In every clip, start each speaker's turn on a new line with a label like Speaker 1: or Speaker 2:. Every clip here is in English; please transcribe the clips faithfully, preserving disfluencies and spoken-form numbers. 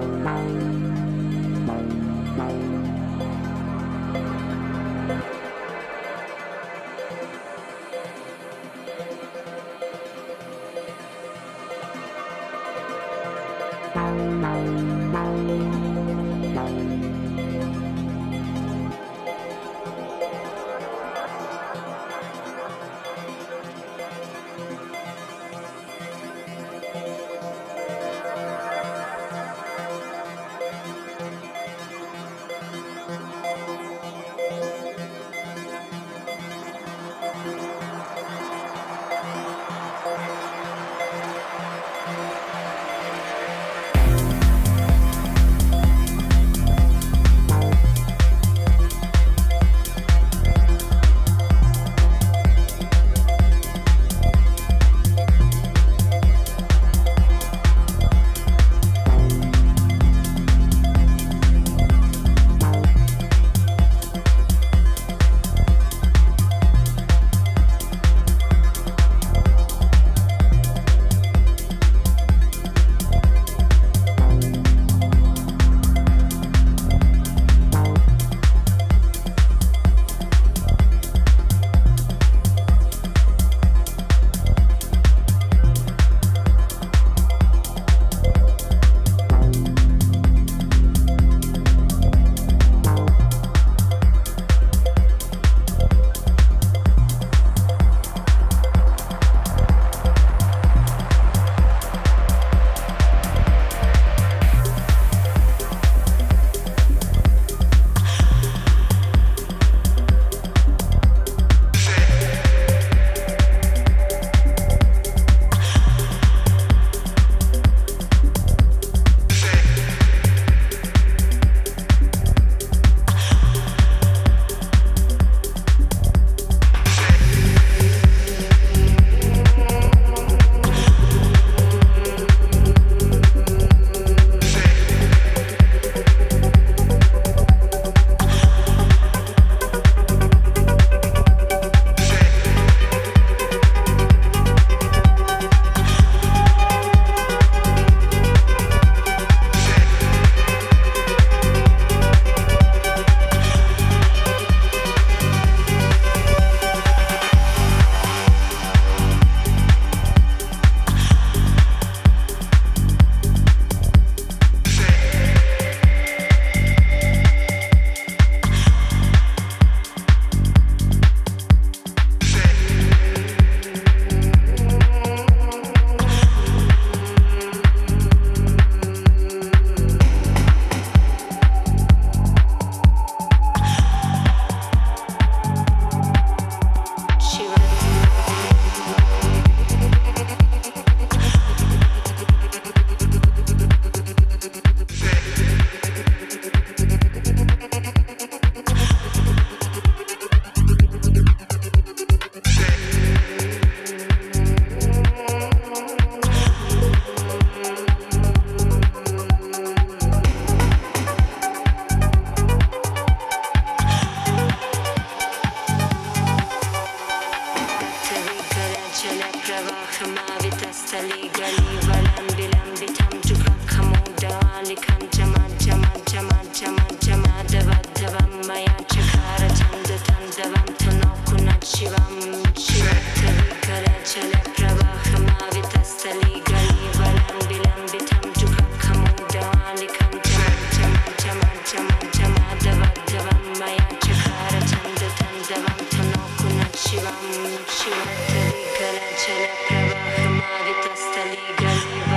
Speaker 1: Shivam, Shivam, Tari Kala Chala Prabha Mavita Stali Gali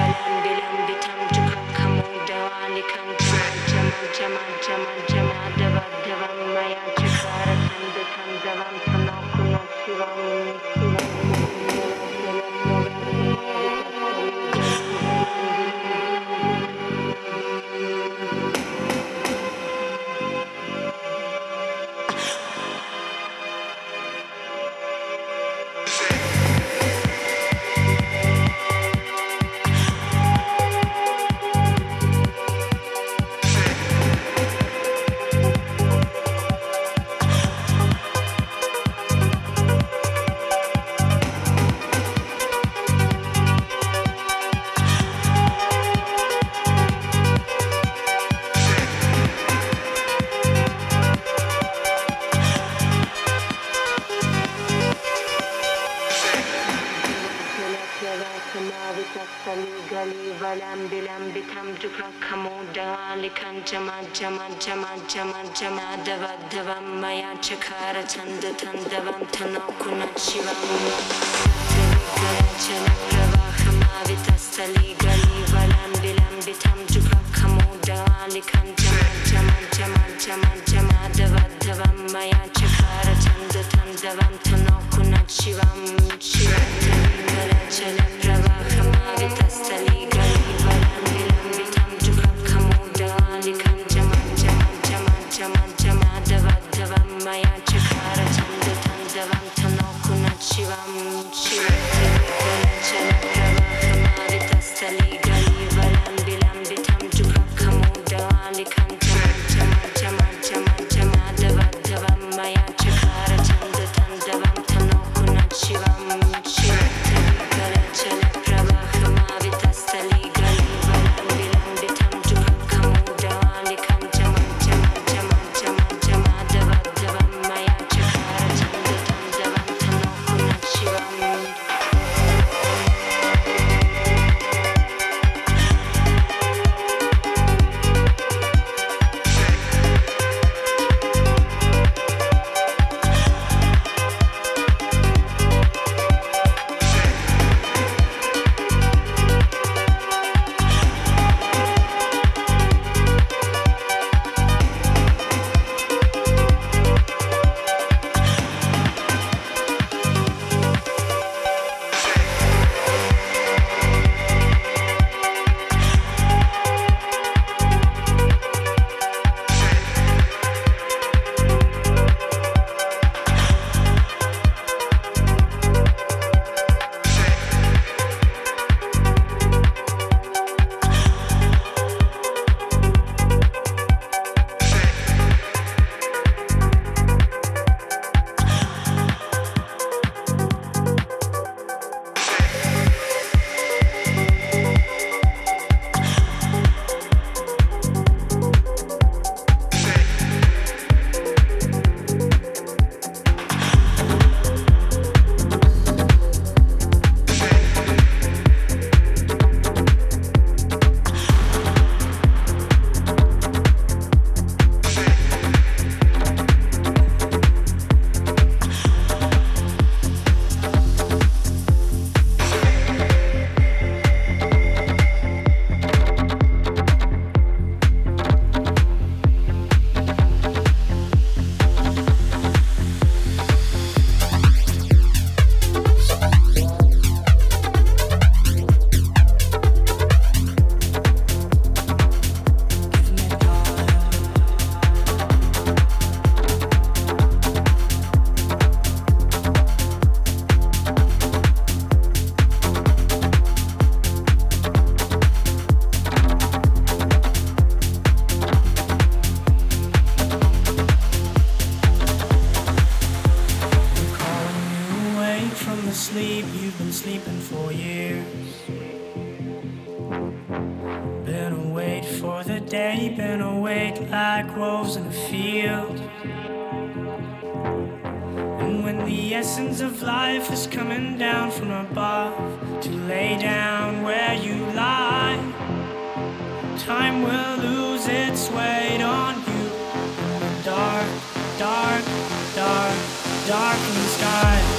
Speaker 1: Gali valam bilam bitam duka kamoda likan jama jama jama jama jama dava davam maya chakara tanda tandavam tanokuna shivam Gala chala pravahama vitastali gali valam bilam bitam duka kamoda likan jama jama jama jama jama dava davam maya chakara tanda tandavam tanokuna shivam shivam Gala chala pravahama vitastali gali valam bilam bitam duka kamoda likan jama jama jama jama jama dava davam maya chakara tanda tandavam tanokuna shivam shivam Gala chala pravahama vitastali gali valam bilam bitam duka kamoda likan jama jama jama jama jama dava davam maya chakara tanda tandavam tanokuna shivam shivam Gala chala pravahama vitastali gali valam bilam bitam duka kamoda likan jama jama jama jama jama dava davam maya chakara tanda tandavam tanokuna shivam
Speaker 2: Sleep, you've been sleeping for years. Been awake for the day, been awake like wolves in a field. And when the essence of life is coming down from above to lay down where you lie, time will lose its weight on you in the dark, dark, dark, darkened sky.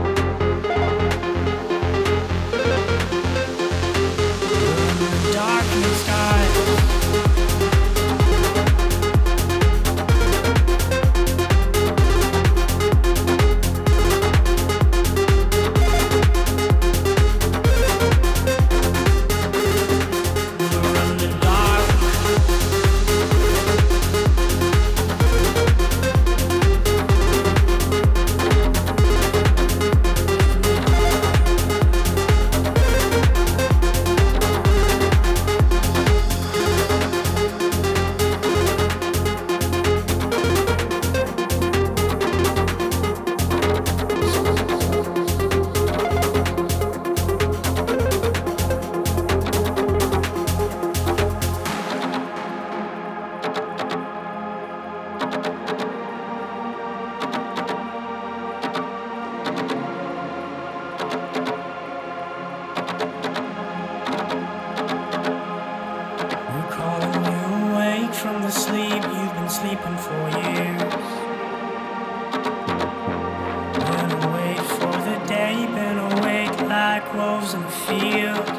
Speaker 2: Dark From the sleep you've been sleeping for years. Been awake for the day, been awake like wolves in the field.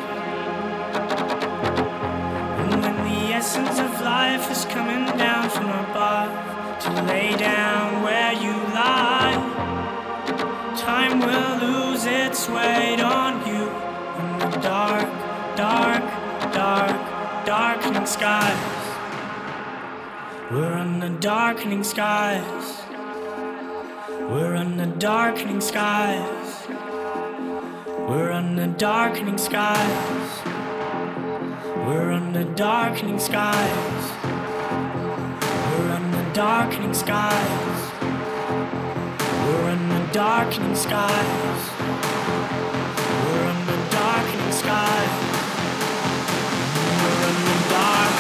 Speaker 2: And when the essence of life is coming down from above to lay down where you lie, time will lose its weight on you in the dark, dark, dark, darkening skies. We're under darkening skies. We're under darkening skies. We're under darkening skies. We're under darkening skies. We're under darkening skies. We're under darkening skies. We're under darkening skies. We're under dark.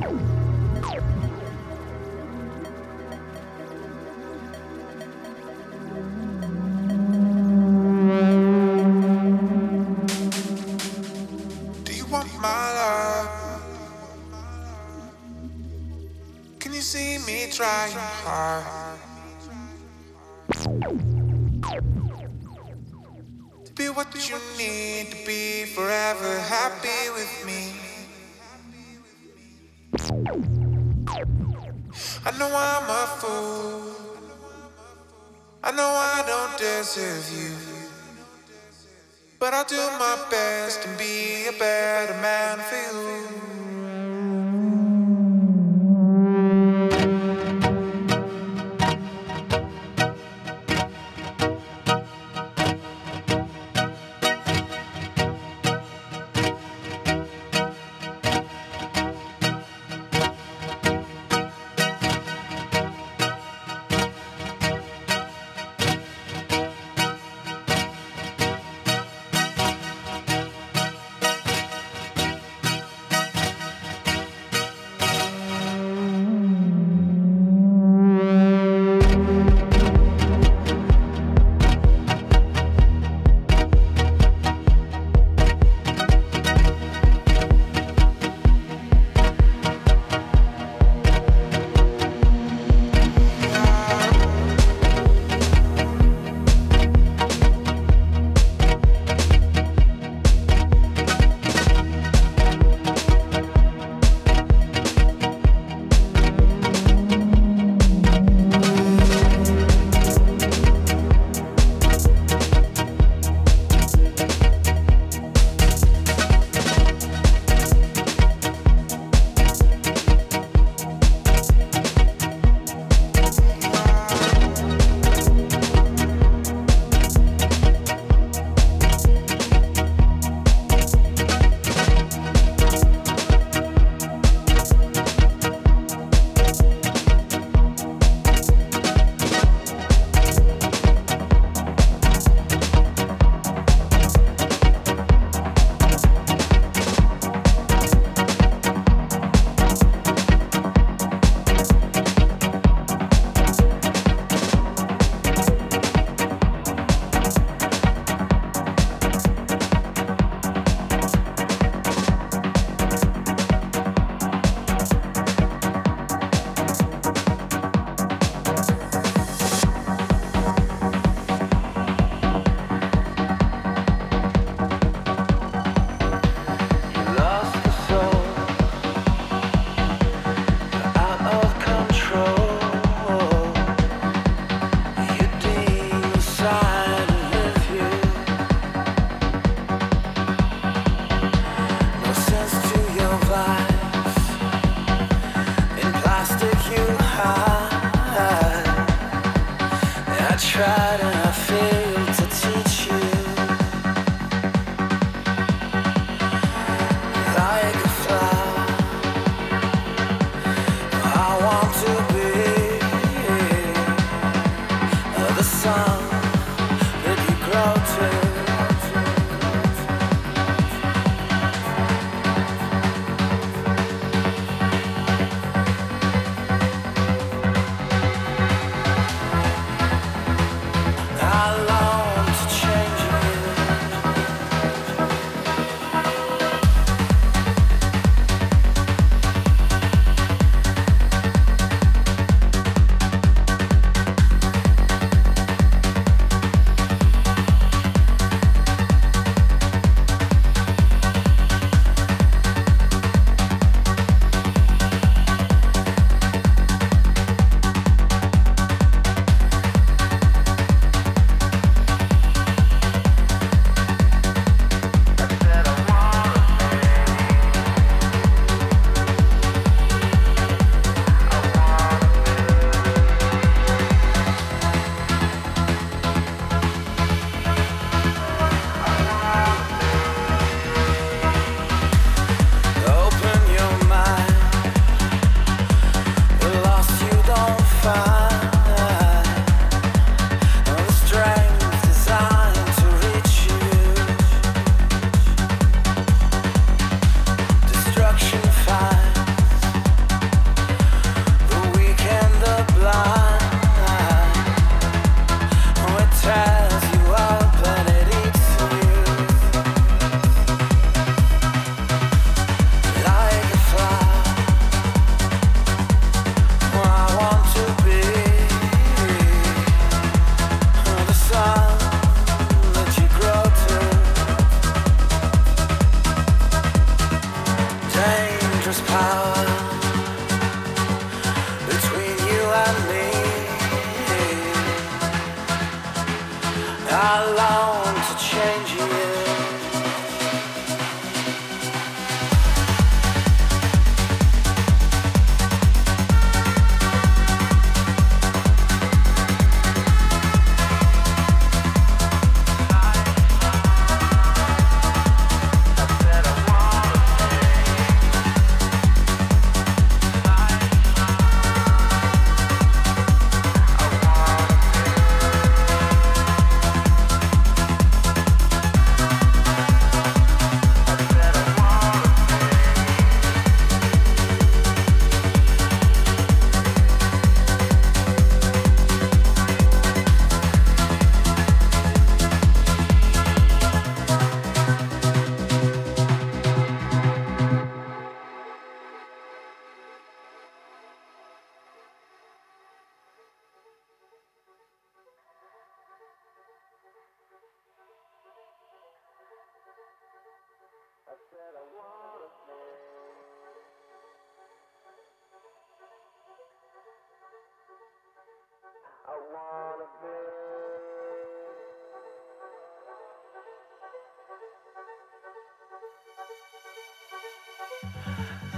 Speaker 3: Do you want my love? Can you see me trying hard to be what you need to be, forever happy with me? I know I'm a fool, I know I don't deserve you, but I'll do my best and be a better man for you.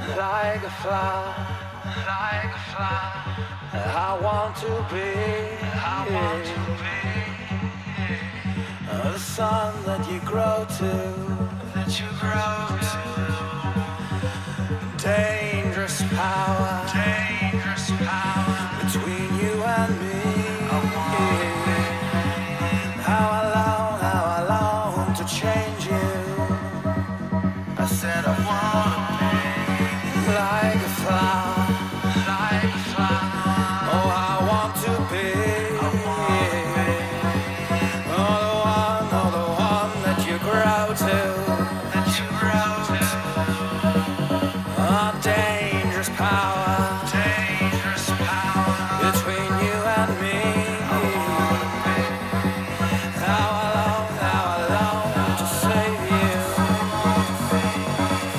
Speaker 4: like a flower, like a flower. I want to be, I want to be the sun that you grow to, that you grow to. Dangerous power, dangerous power between you and me. I want how I long, how I long to change you. I said I want to be like a flower, like a flower. Oh, I want to be, I want to be. Oh, the one, oh, the one that you grow to, that you grow to. Oh, dangerous power, dangerous power between you and me. How I long, how I long to save you.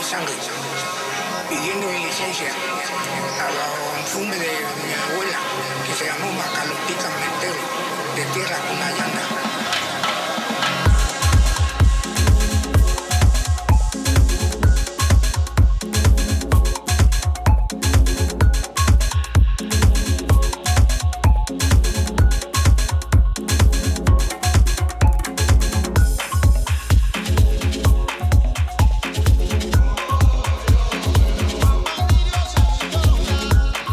Speaker 5: sangre, pidiendo mi licencia a la funde de mi abuela, que se llamó Macalotica Mentero, de tierra una llana.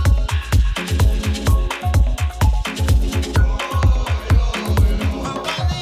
Speaker 3: Bye.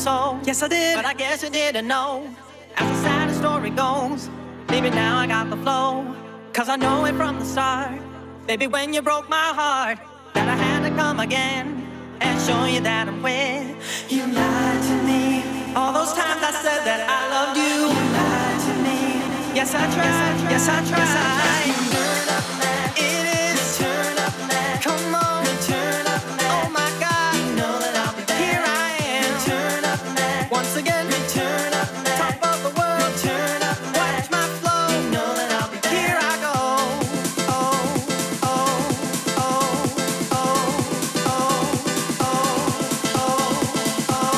Speaker 6: soul. Yes, I did, but I guess you didn't know. As the sad story goes, baby, now I got the flow. Cause I know it from the start. Baby, when you broke my heart, that I had to come again and show you that I'm with. You lied to me. All those times I said that I loved you. You lied to me. Yes, I tried. Yes, I tried. Turn up now. It is. Turn up now. Come on. Turn up now. Oh my God. You know that I'll be there. Here I am. Turn up now. Once again. Turn up now. Top of the world. Turn up now. Watch my flow. You know that I'll be there. Here I go. Oh, oh, oh, oh, oh, oh, oh, oh, oh.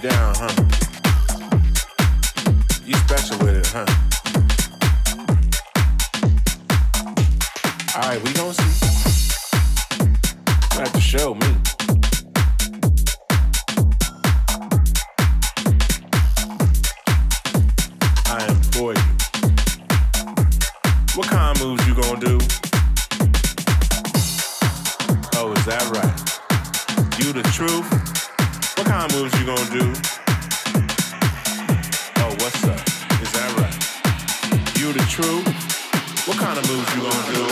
Speaker 7: down, huh? You special with it, huh? Alright, we gon' see. You have to show me. I employ you. What kind of moves you gon' do? Oh, is that right? You the truth? What kind of moves you gon' do? Oh, what's up? Is that right? You the truth? What kind of moves you gon' do?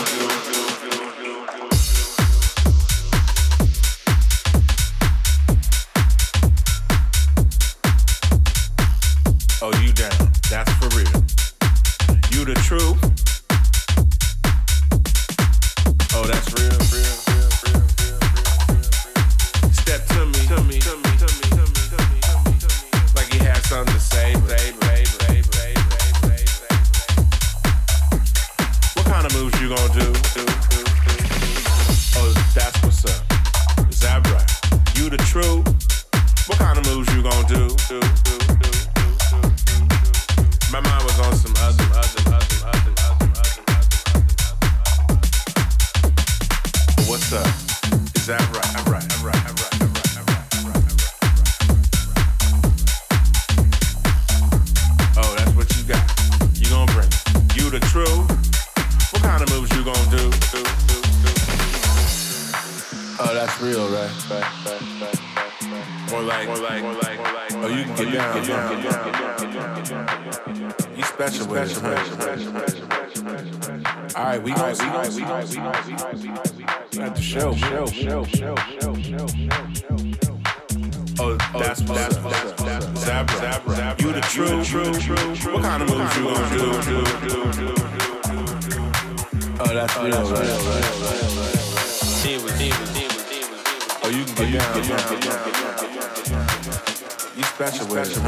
Speaker 7: Oh, you down? That's for real. You the truth? Oh, that's real, real, real, real, real, real. Step to me, to me, to me, to me, to me, to me, to me, to me. Like he had something to say, say, say, say, say, say, say. What kind of moves you gonna do? do, do, do? Oh, that's what's up. Is that right? You the truth? What kind of moves you gonna do? do, do, do, do, do, do. My mind was on some other, other, other, other, other, other, other. What's up? Is that right? I'm right, I'm right, I'm right, I'm right, I'm right, I'm right, I'm right. Oh, that's what you got. You gon' bring it. You the truth? What kind of moves you gon' do? do, do, do? Oh, that's real, right? Right, right, right, right. More like, more like, more like, more like. Oh, you can get down, get down, get down, get down, get down, get down. You special with it, huh? All right, we gon' see, we gon' see, we gon' see, we gon' see, we gon' see, we gon' see. At the show, show, show, show, show, show, show. Oh, that's that's that's that's Zabra, Zabra. You the true, true, true. What kind of moves you gonna do? do, do, do, do, do. Oh, that's real, right? Oh, you can get down, get down, get down, get down. You special with it,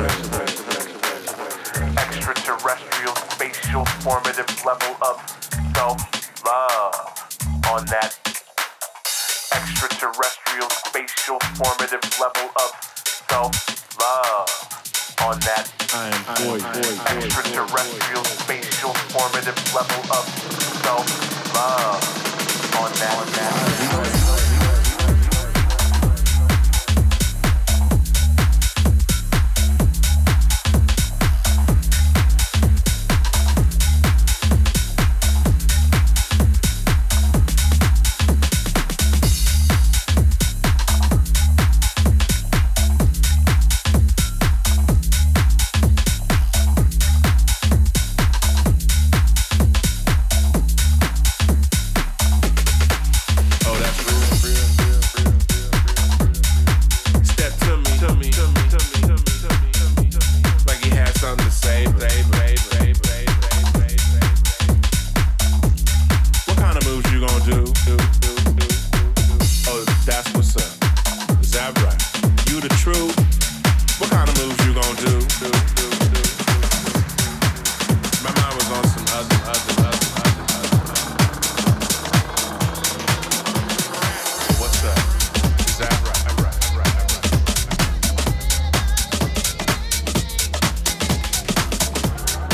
Speaker 8: Extraterrestrial, spatial, formative level of self-love on that. Extraterrestrial, spatial, formative level of self-love on that.
Speaker 7: I am boy, boy, boy.
Speaker 8: Extraterrestrial, spatial, formative level of self-love on that. On that.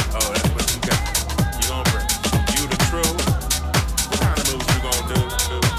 Speaker 7: You the truth? What kind of moves you gonna do?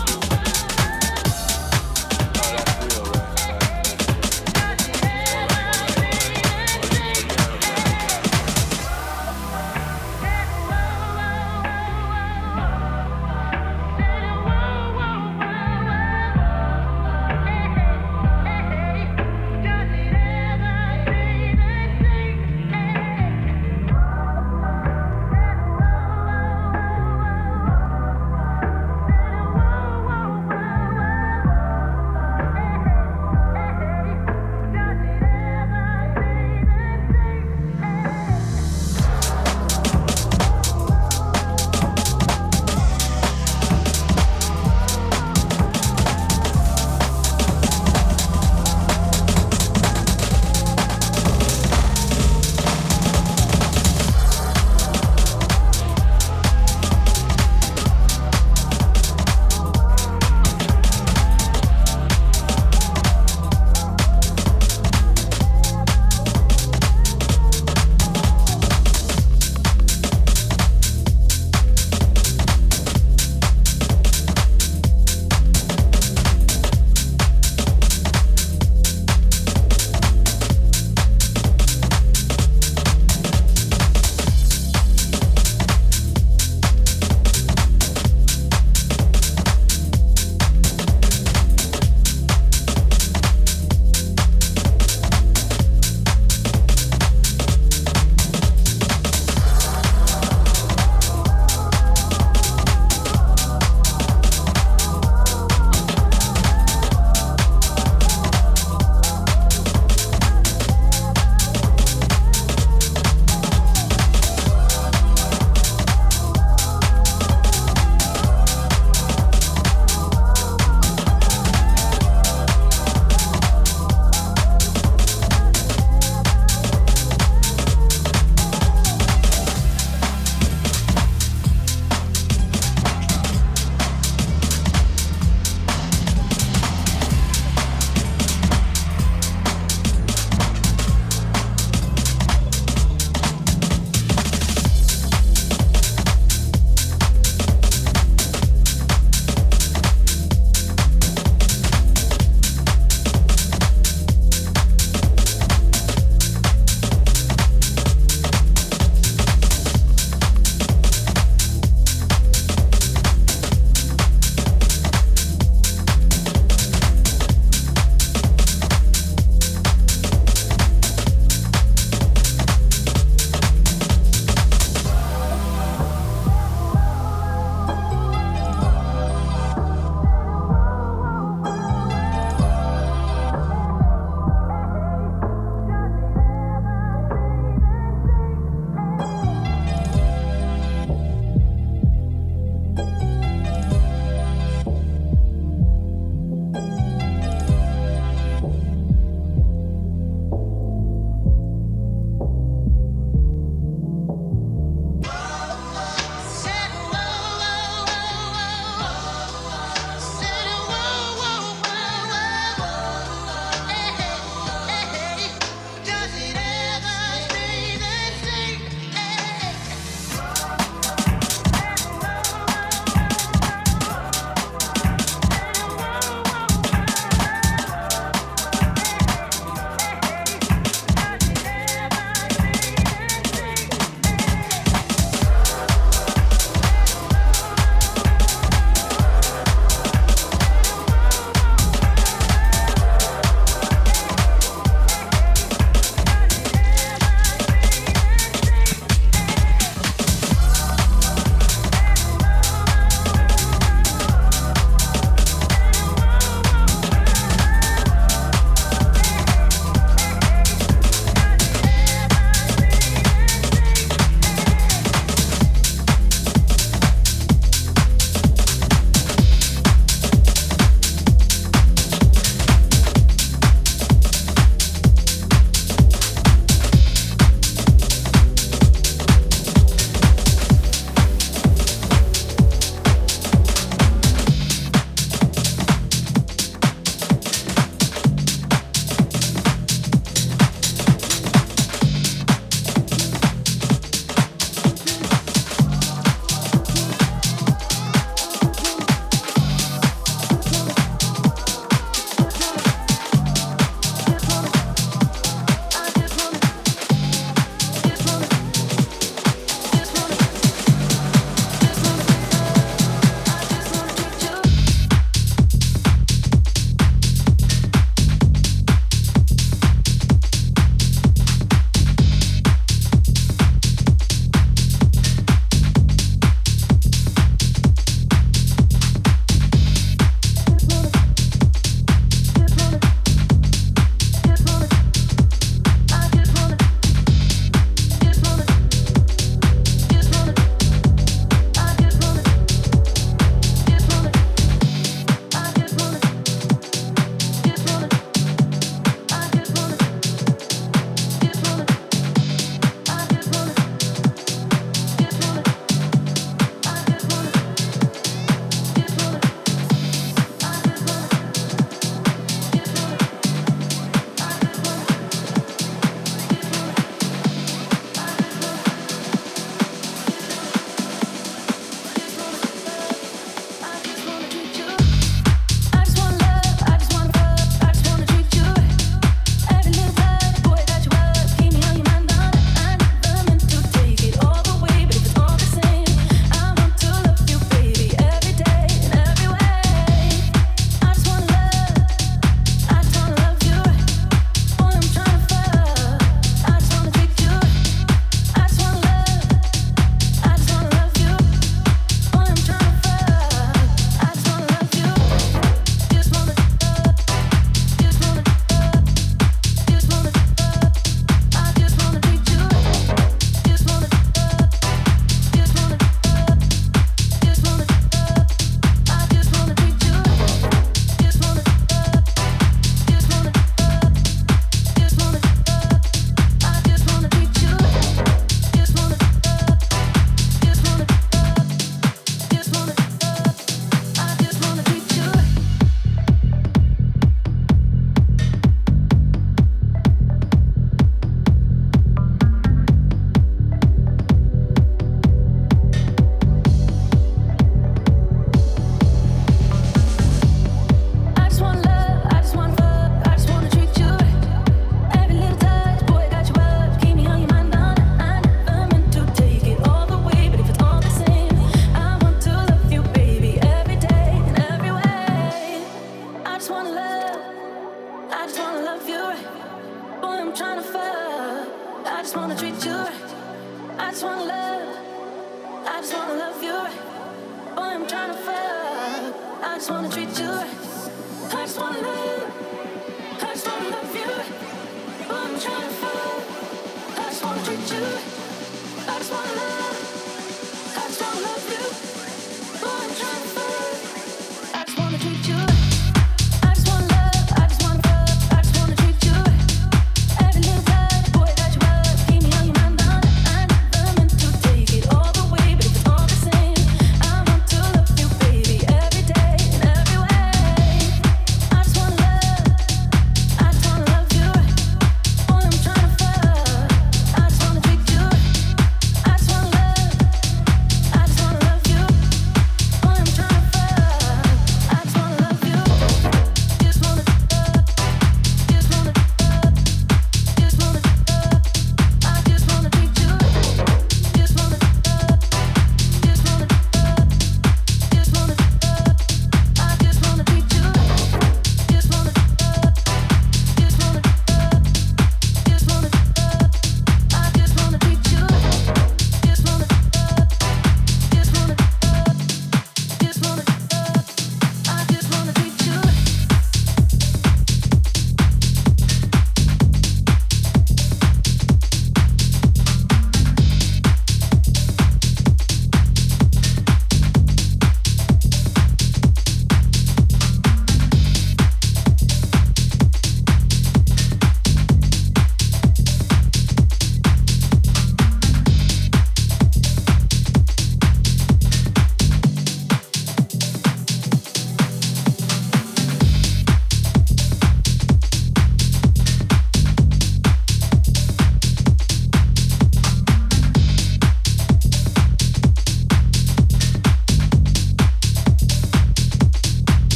Speaker 9: just wanna treat you right. I just wanna love you. I just wanna love you. Oh, I'm trying to fall. I just wanna treat you right. I just wanna love. I just wanna love you. Oh, I'm trying to fall. I just wanna treat you right. I just wanna love. I just wanna fuck. I just wanna treat you right. Every little time, boy, that you love, keep me on your mind. I never meant to take it all the way, but if it's all the same, I want to love you, baby, every day and every way. I just wanna love. I just wanna love you right. Boy, I'm trying to fuck. I just wanna treat you right. I just wanna love. I just wanna love you. Boy, I'm trying to fuck. I just wanna love you.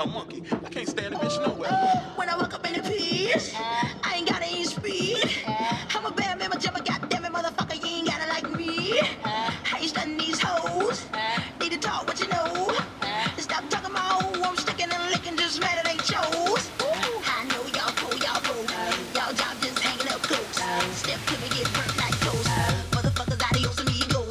Speaker 10: damn monkey. I can't stand the bitch nowhere.
Speaker 11: When I walk up in the piece, I ain't got any speed. I'm a bad man, jump a goddamn it, motherfucker, you ain't gotta like me. I ain't studying these hoes. Need to talk what you know. Stop talking my own, I'm sticking and licking, just mad at ain't chose. I know y'all fool, y'all fool. Y'all job just hanging up close. Step to me, get burnt like toast. Motherfuckers, adios amigos.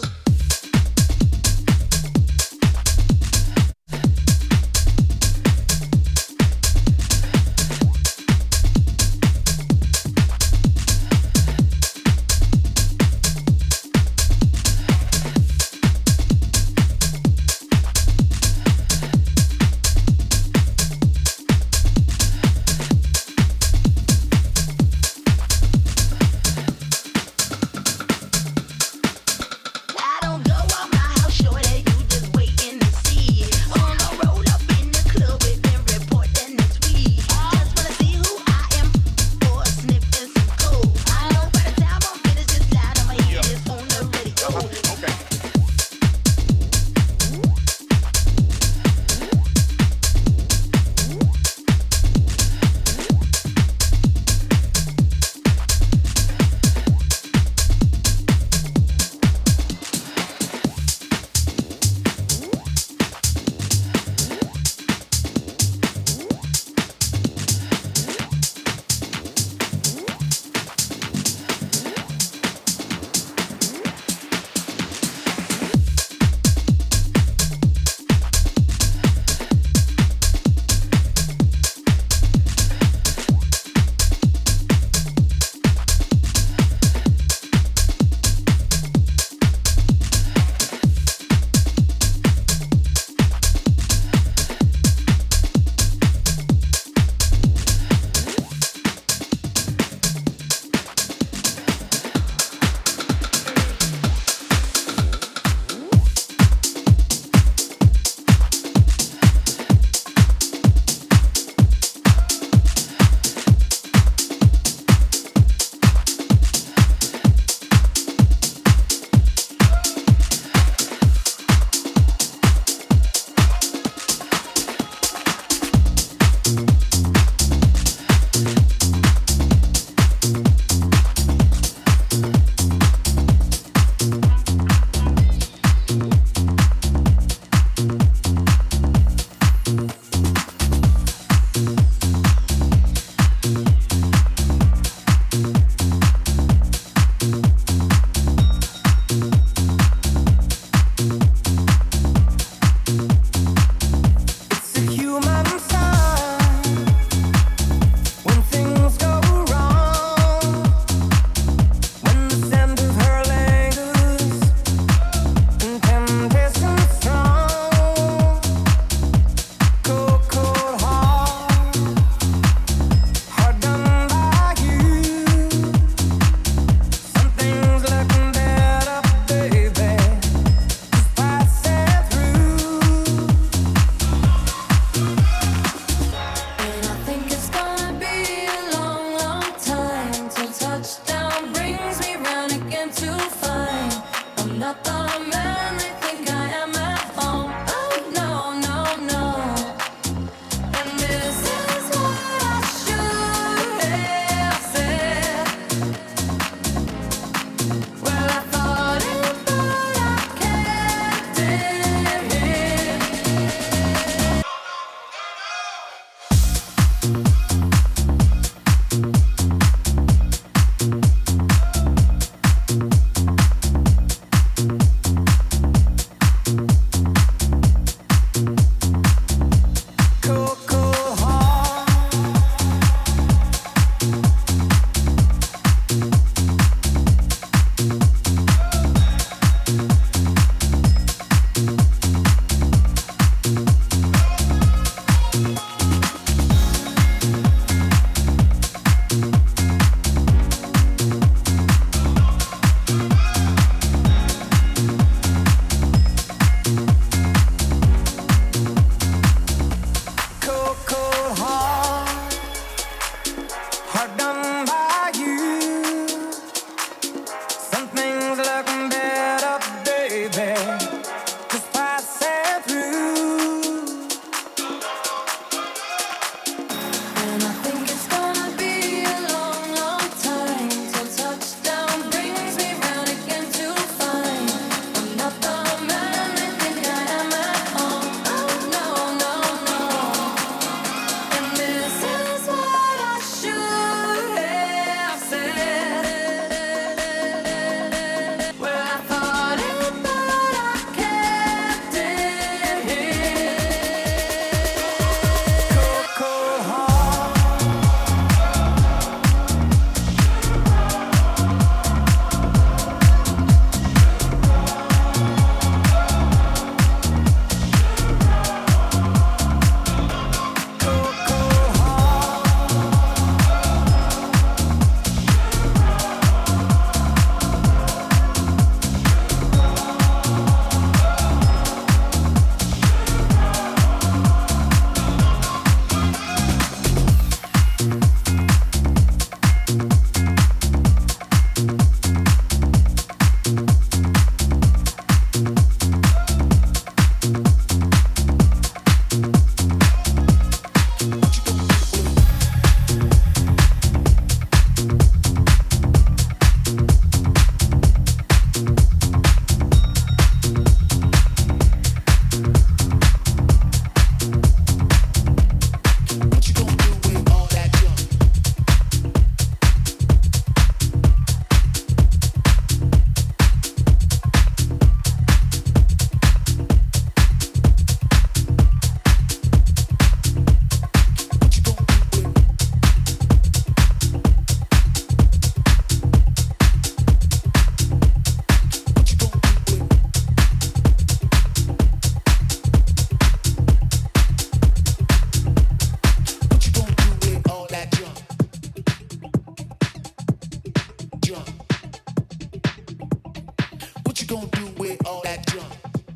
Speaker 12: you gonna do with all that junk?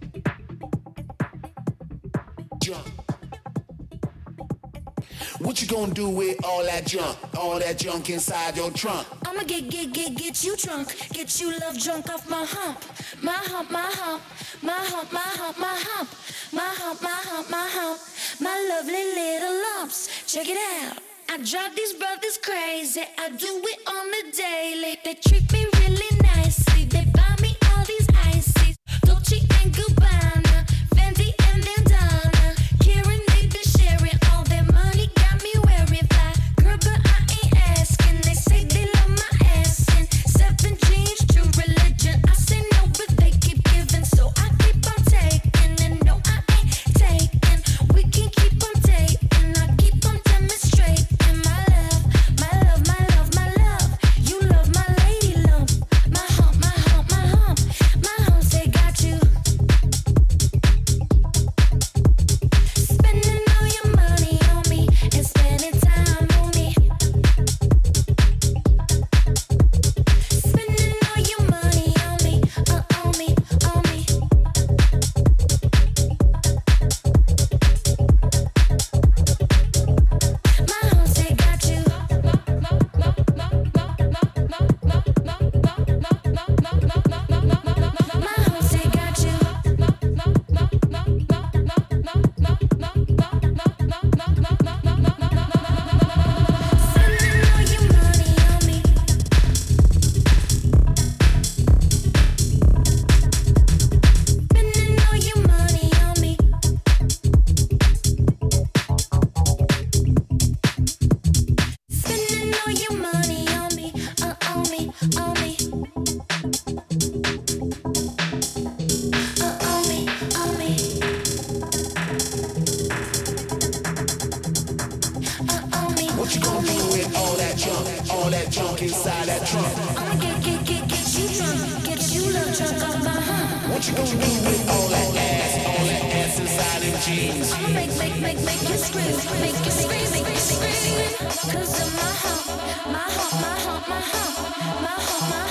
Speaker 12: Junk. What you gonna do with all that junk? All that junk inside your trunk?
Speaker 9: I'ma get, get, get, get you drunk. Get you love drunk off my hump. My hump, my hump. My hump, my hump, my hump. My hump, my hump, my hump. My lovely little lumps. Check it out. I drive these brothers crazy. I do it on the daily. They treat me really nicely. They buy me all these ices. Dolce and Gabbana, Fendi and Bandana. Karen, they been sharing all their money. Got me wearing fly. Girl, but I ain't asking. They say they love my ass and seven jeans, true religion. I say no, but they keep giving, so I keep on taking. And no, I ain't taking. We can keep on taking. I keep on demonstrating. My love, my love, my love, my love. You love my lady lump. My hump, my hump, my hump. My hump say got you. Spending all your money on me and spending time on me. Spending all your money on me, uh, on me, on me. My hump say got you. My hump say got you. Spending all your money on me. Spending all your money on me. Spending all your money on me, uh, on me, on me. Uh, on me, on me. Uh, on me.
Speaker 12: What you gonna do with all that junk? All that junk inside that trunk?
Speaker 9: I'ma get, get, get, get you drunk. Get you love drunk off my hump.
Speaker 12: What you gonna do with all that ass? All that ass inside them jeans?
Speaker 9: I'ma make, make, make, make you scream. Make you scream, make you scream. Cause of my hump, my hump, my hump, my hump. My hump, my